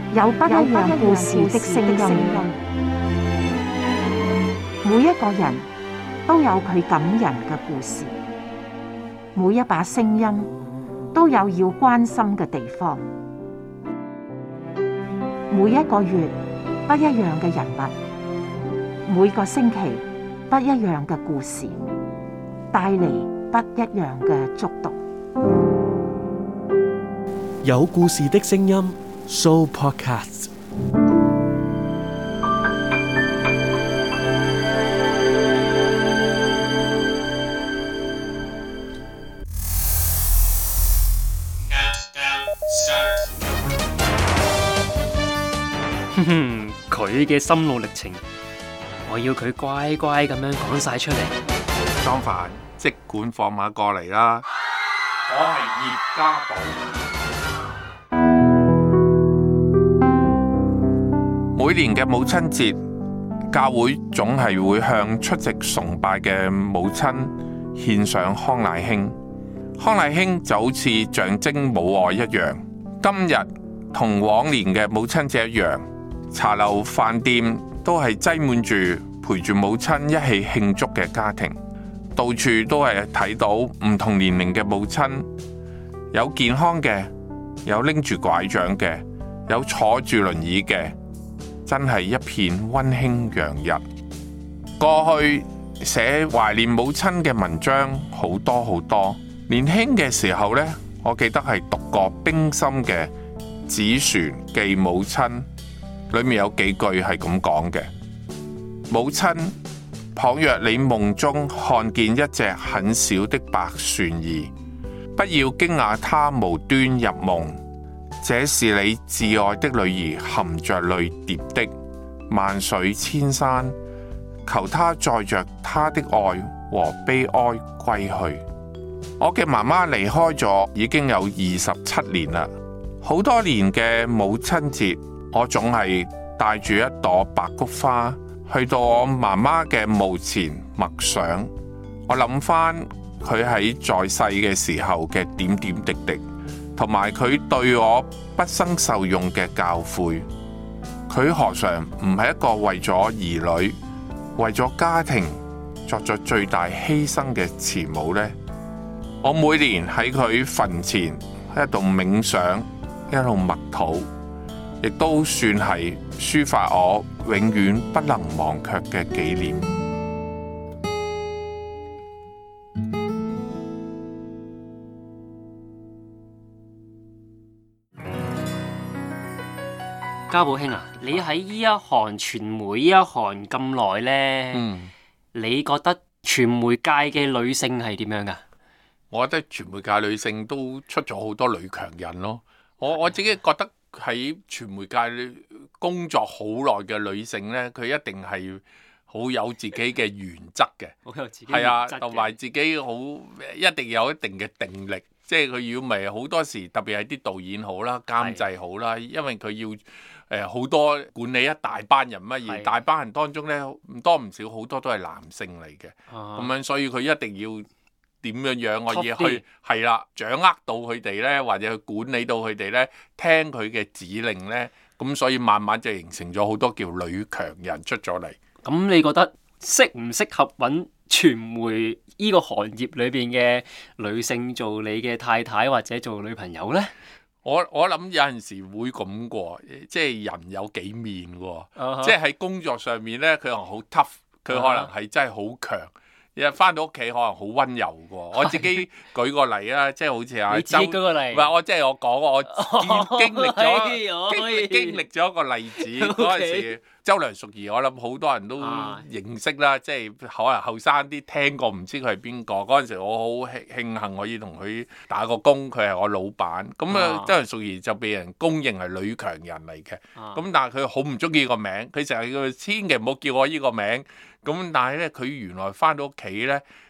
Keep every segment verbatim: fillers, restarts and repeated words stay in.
有不一樣故事的聲音，每一個人都有佢感人嘅故事，每一把聲音都有要關心嘅地方。每一個月不一樣嘅人物，每個星期不一樣嘅故事，帶嚟不一樣嘅觸動。 有故事的聲音 Sooo Podcast。 哼哼，佢嘅心路歷程，我要佢乖乖咁樣講晒出嚟。 莊凡，即管放馬過嚟啦！我係葉家寶。每年嘅母親節，教會總係會向出席崇拜嘅母親獻上康乃馨。康乃馨就好似象徵母愛一樣。今日同往年嘅母親節一樣，茶樓飯店都係擠滿住陪住母親一起慶祝嘅家庭，到處都係睇到唔同年齡嘅母親，有健康嘅，有拎住拐杖嘅，有坐住輪椅嘅，真係一片溫馨洋溢。過去寫懷念母親嘅文章好多好多，年輕嘅時候呢，我記得係讀過冰心嘅《紙船寄母親》，裏面有幾句係咁講嘅：母親，倘若你夢中看見一隻很小的白船兒，不要驚訝它無端入夢，這是你摯愛的女兒含着淚疊的。萬水千山，求她載着她的愛和悲哀歸去。我嘅媽媽離開咗已經有二十七年啦，好多年嘅母親節，我總係帶住一朵白菊花去到我媽媽嘅墓前默想。我諗翻佢喺在世嘅時候嘅點點滴滴，同埋佢對我畢生受用嘅教誨。佢何嘗唔係一個為咗兒女、為咗家庭作咗最大犧牲嘅慈母呢？我每年喺佢墳前喺度冥想，一路默禱，亦都算係抒發我永遠不能忘卻嘅紀念。 家寶兄啊，你喺呢一行傳媒呢一行咁耐呢， 嗯， 你覺得傳媒界嘅女性係點樣噶？ 我覺得傳媒界女性都出咗好多女強人咯。我我自己覺得喺傳媒界工作好耐嘅女性呢，佢一定係好有自己嘅原則嘅， 好有自己係啊， 原則嘅同埋自己好一定有一定嘅定力。即係佢要咪好多時，特別係啲導演好啦、監製好啦，因為佢要誒好、呃、多管理一大班人乜，而大班人當中呢，唔多唔少好多都係男性嚟嘅，咁、啊、樣所以佢一定要點樣樣我要去係啦，掌握到佢哋呢，或者去管理到佢哋呢，聽佢嘅指令呢，咁所以慢慢就形成咗好多叫女強人出咗嚟。 咁你覺得適唔適合揾傳媒呢個行業裏邊嘅女性做你嘅太太或者做女朋友呢？ 我我諗有陣時會咁過，即係人有幾面喎，uh-huh. 即係喺工作上面呢，佢可能好 tough，佢可能係真係好強。日翻到屋企可能好溫柔嘅，我自己舉個例啊，即係好似阿周， 你自己舉個例， 唔係我即係我講我經歷咗經歷經歷咗一個例子嗰陣時，周梁淑怡我諗好多人都認識啦，即係可能後生啲聽過唔知佢係邊個。嗰陣時我好慶幸可以同佢打個工，佢係我老闆。咁啊，周梁淑怡就被人公認係女強人嚟嘅。咁但係佢好唔中意個名，佢成日叫千祈唔好叫我呢個名。咁但係咧，佢原來翻到屋企咧，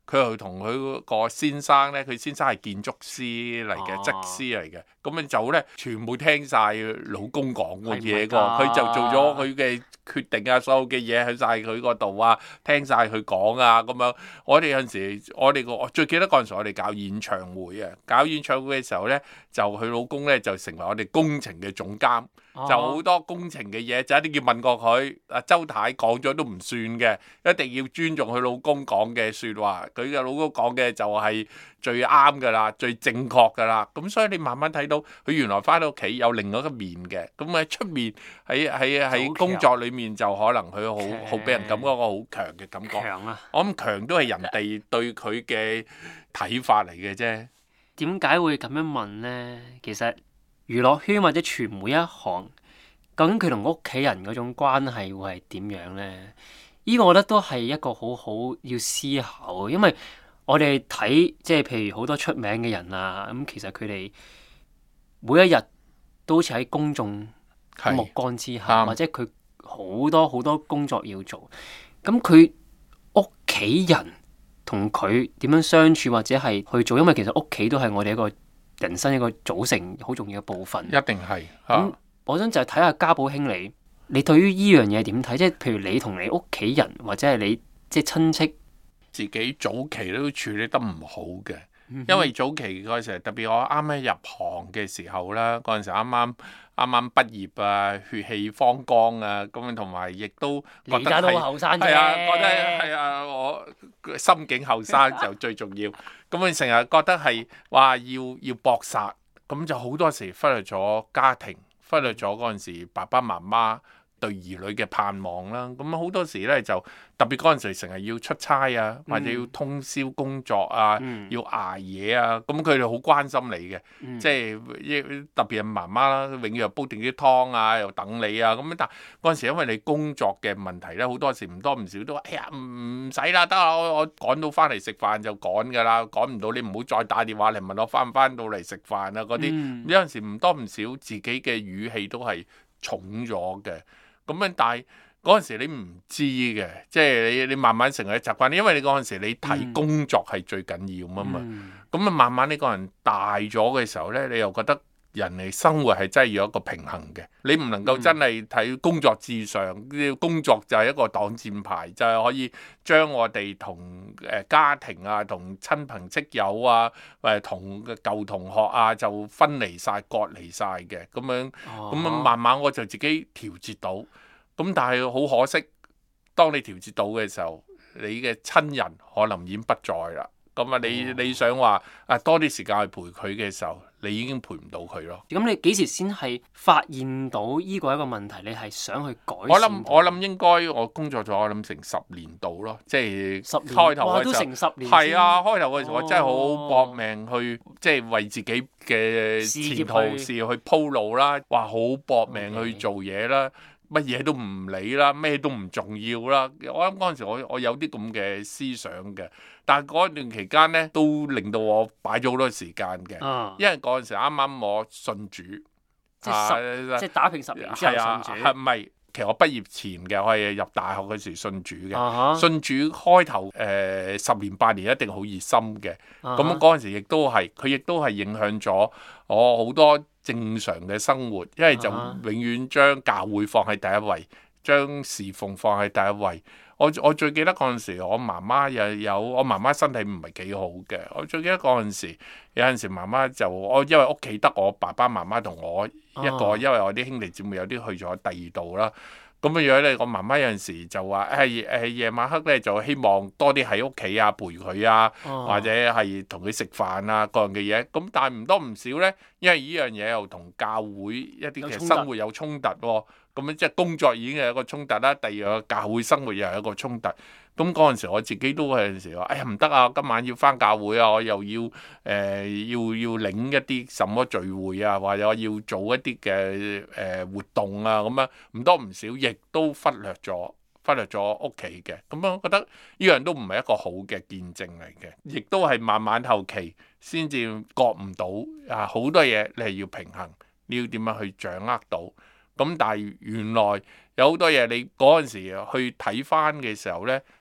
佢又同佢個先生咧，佢先生係建築師嚟嘅，則師嚟嘅，咁樣就咧全部聽晒老公講嘅嘢個，佢就做咗佢嘅決定啊，所有嘅嘢喺晒佢嗰度啊，聽晒佢講啊，咁樣。我哋有陣時，我哋個我最記得嗰陣時，我哋搞演唱會啊，搞演唱會嘅時候咧，就佢老公咧就成為我哋工程嘅總監。就好多工程嘅嘢，就一定要問過佢。阿周太講咗都唔算嘅，一定要尊重佢老公講嘅説話。佢嘅老公講嘅就係最啱㗎啦，最正確㗎啦。咁所以你慢慢睇到佢原來翻到屋企有另外一個面嘅。咁喺出面喺喺喺工作裡面就可能佢好好俾人感覺個好強嘅感覺。 強啊！ 我諗強都係人哋對佢嘅睇法嚟嘅啫。 點解會咁樣問呢？其實娛樂圈或者傳媒一行，究竟佢同屋企人嗰種關係會係點樣呢？呢個我覺得都係一個好好要思考，因為我哋睇即係譬如好多出名嘅人啊，咁其實佢哋每一日都好似喺公眾目光之下，或者佢好多好多工作要做，咁佢屋企人同佢點樣相處或者係去做，因為其實屋企都係我哋一個人生一個組成好重要嘅部分， 一定係。 咁、嗯、我想就係睇下家寶兄你，你對於依樣嘢點睇？即係譬如你同你屋企人或者係你即係親戚， 自己早期都處理得唔好嘅，因為早期嗰陣時，特別我啱啱入行嘅時候啦，嗰陣時啱啱啱啱畢業啊，血氣方剛啊，咁同埋亦都覺得而家都好後生啫， 係啊，覺得係啊，我心境後生就最重要。咁佢成日覺得係話要要搏殺，咁就好多時忽略咗家庭，忽略咗嗰陣時爸爸媽媽對兒女嘅盼望啦。咁好多時咧就特別嗰陣時成日要出差啊，或者要通宵工作啊， 嗯、 要捱夜啊，咁佢哋好關心你嘅， 嗯、 即係特別係媽媽啦，永遠又煲定啲湯啊，又等你啊。咁但嗰陣時因為你工作嘅問題咧，好多時唔多唔少都話：哎呀唔使啦，得啦，我我趕到翻嚟食飯就趕㗎啦，趕唔到你唔好再打電話嚟問我翻唔翻到嚟食飯啊嗰啲。 嗯、 有陣時唔多唔少自己嘅語氣都係重咗嘅。咁樣但係嗰陣時你唔知嘅，即係你你慢慢成為習慣，因為你嗰陣時你睇工作係最緊要啊嘛。咁啊、嗯、慢慢呢個人大咗嘅時候咧，你又覺得人哋生活係真係要有一個平衡嘅，你唔能夠真係睇工作至上，嗯、工作就係一個擋箭牌，就係、是、可以將我哋同誒家庭啊、同親朋戚友啊、誒同舊同學啊就分離晒、割離晒嘅咁樣。咁樣、哦、慢慢我就自己調節到。咁但係好可惜，當你調節到嘅時候，你嘅親人可能已經不在啦。咁啊，你你想話啊多啲時間去陪佢嘅時候，你已經陪唔到佢咯。咁你幾時先係發現到依個一個問題？你係想去改善？ 我諗我諗應該我工作咗我諗成十年度咯，即係開頭嘅時候。 都成十年。 係啊，開頭嘅時候我真係好搏命去，哦、即係為自己嘅前途事業去鋪路啦。哇，好搏命去做嘢啦。Okay. 乜嘢都唔理啦，咩都唔重要啦。我諗嗰陣時我，我我有啲咁嘅思想嘅，但係嗰一段期間咧，都令到我擺咗好多時間嘅。啊、因為嗰陣時啱啱我信主， 即係十、啊、即係打拼十年之後信主。 係唔係？其實我畢業前嘅，我係入大學嗰時信主嘅。 啊、 信主開頭誒、呃、十年八年一定好熱心嘅。咁嗰陣時亦都係，佢亦都係影響咗我好多正常嘅生活，因為就永遠將教會放喺第一位，將侍奉放喺第一位。我我最記得嗰陣時，我媽媽又有我媽媽身體唔係幾好嘅。我最記得嗰陣時，有陣時媽媽就我因為屋企得我爸爸媽媽同我一個，啊、因為我啲兄弟姊妹有啲去咗第二度啦。咁嘅樣咧，我媽媽有陣時就話誒誒夜晚黑咧就希望多啲喺屋企啊陪佢啊，啊或者係同佢食飯啊各樣嘅嘢。咁但係唔多唔少咧，因為呢樣嘢又同教會一啲嘅生活有衝突喎。咁樣即係工作已經係一個衝突啦，第二個教會生活又係一個衝突。咁嗰陣時我自己都有陣時話：哎呀唔得啊，今晚要返教會啊，我又要誒、呃、要要領一啲什麼聚會啊，或者我要做一啲嘅誒活動啊，咁樣唔多唔少，亦都忽略咗忽略咗屋企嘅。咁樣我覺得呢樣都唔係一個好嘅見證嚟嘅，亦都係慢慢後期先至覺唔到啊，好多嘢你係要平衡，你要點樣去掌握到。咁但係原來有好多嘢你嗰陣時去睇翻嘅時候呢，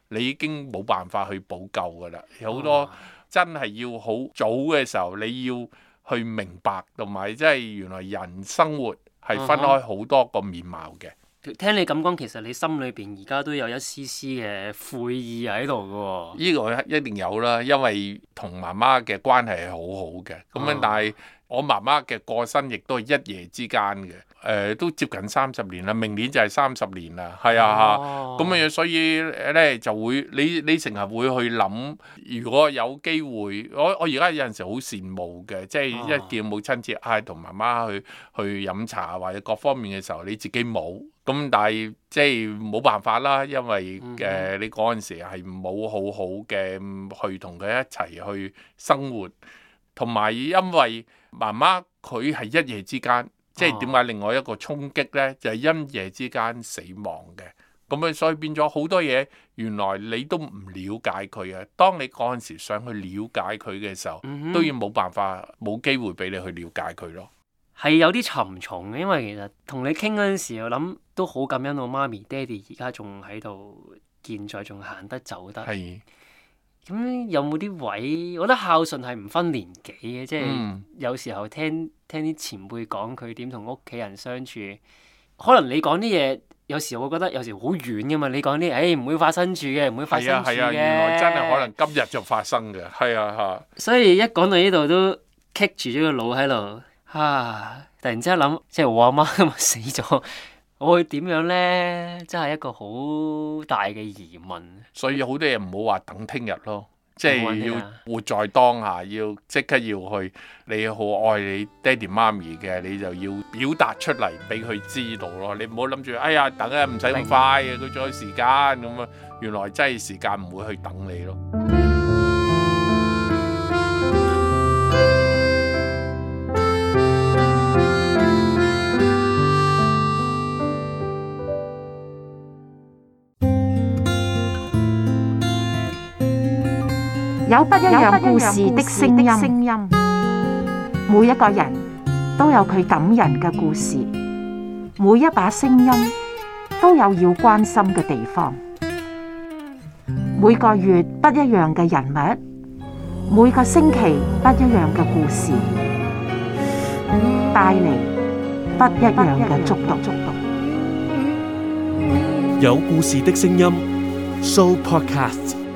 你已經冇辦法去補救噶啦。有好多真係要好早嘅時候，你要去明白，同埋即係原來人生活係分開好多個面貌嘅。 聽你咁講，其實你心裏邊而家都有一絲絲嘅悔意喺度嘅喎。 呢個一定有啦，因為同媽媽嘅關係係好好嘅。咁樣，但係我媽媽嘅過身亦都係一夜之間嘅。誒、呃，都接近三十年啦，明年就係三十年啦。係啊，咁樣、哦，所以咧就會你你成日會去諗，如果有機會，我我而家有陣時好羨慕嘅，即係一見母親節，唉、啊，同媽媽去去飲茶或者各方面嘅時候，你自己冇。咁但係即係冇辦法啦，因為誒、嗯呃、你嗰陣時係冇好好嘅去同佢一齊去生活，同埋因為媽媽佢係一夜之間，即係點解另外一個衝擊呢？就係、是、因夜之間死亡嘅。咁樣所以變咗好多嘢，原來你都唔了解佢啊。當你嗰陣時想去了解佢嘅時候，嗯、哼都要冇辦法冇機會俾你去了解佢咯。 係有啲沉重嘅，因為其實同你傾嗰陣時，我諗都好感恩我媽咪、爹哋而家仲喺度，健在，仲行得走得。係。咁有冇啲位？我覺得孝順係唔分年紀嘅，即係、嗯、有時候聽聽啲前輩講佢點同屋企人相處，可能你講啲嘢，有時我覺得有時好遠噶嘛。你講啲誒唔會發生住嘅，唔會發生住嘅。係啊係啊，原來真係可能今日就發生嘅。係啊嚇。所以一講到呢度都棘住咗個腦喺度。啊！突然之間諗，即係我阿媽今日死咗，我會點樣呢？真係一個好大嘅疑問。 所以好多嘢唔好話等聽日咯，即係要活在當下，要即刻要去。你好愛你爹哋媽咪嘅，你就要表達出嚟俾佢知道咯。你唔好諗住，哎呀，等啊，唔使咁快嘅，佢仲有時間咁啊。原來真係時間唔會去等你咯。 有不一樣故事的聲音，每一個人都有佢感人嘅故事，每一把聲音都有要關心嘅地方。每個月不一樣嘅人物，每個星期不一樣嘅故事，帶嚟不一樣嘅觸動。 有故事的聲音 ，Sooo Podcast。